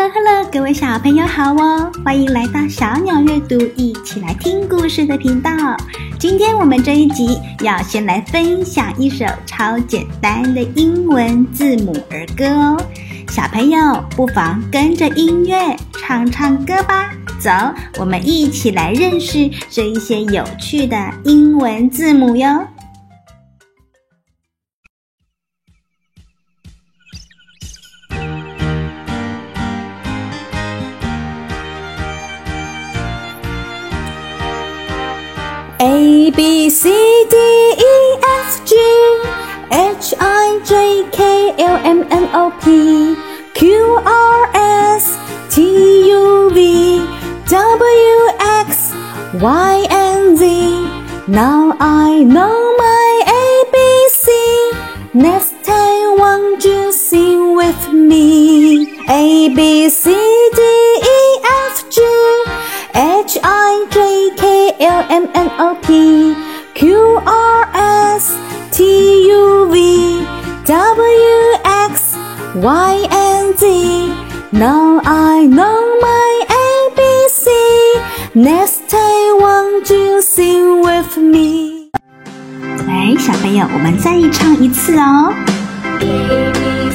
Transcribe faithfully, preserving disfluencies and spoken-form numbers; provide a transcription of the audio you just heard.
Hello， 各位小朋友好哦，歡迎來到小鳥閱讀，一起來聽故事的頻道。今天我們這一集要先來分享一首超簡單的英文字母兒歌哦。小朋友不妨跟着音樂唱唱歌吧。走，我們一起來認識這一些有趣的英文字母喲。A B C D E F G H I J K L M N O P Q R S T U V W X Y and Z. Now I know my A B C. Next time won't you sing with me? A B C D E F G H I J K L M N O P Q R S T U V W X Y and Z. Now I know my A B C. Next time won't you sing with me? 來，小朋友，我們再唱一次哦。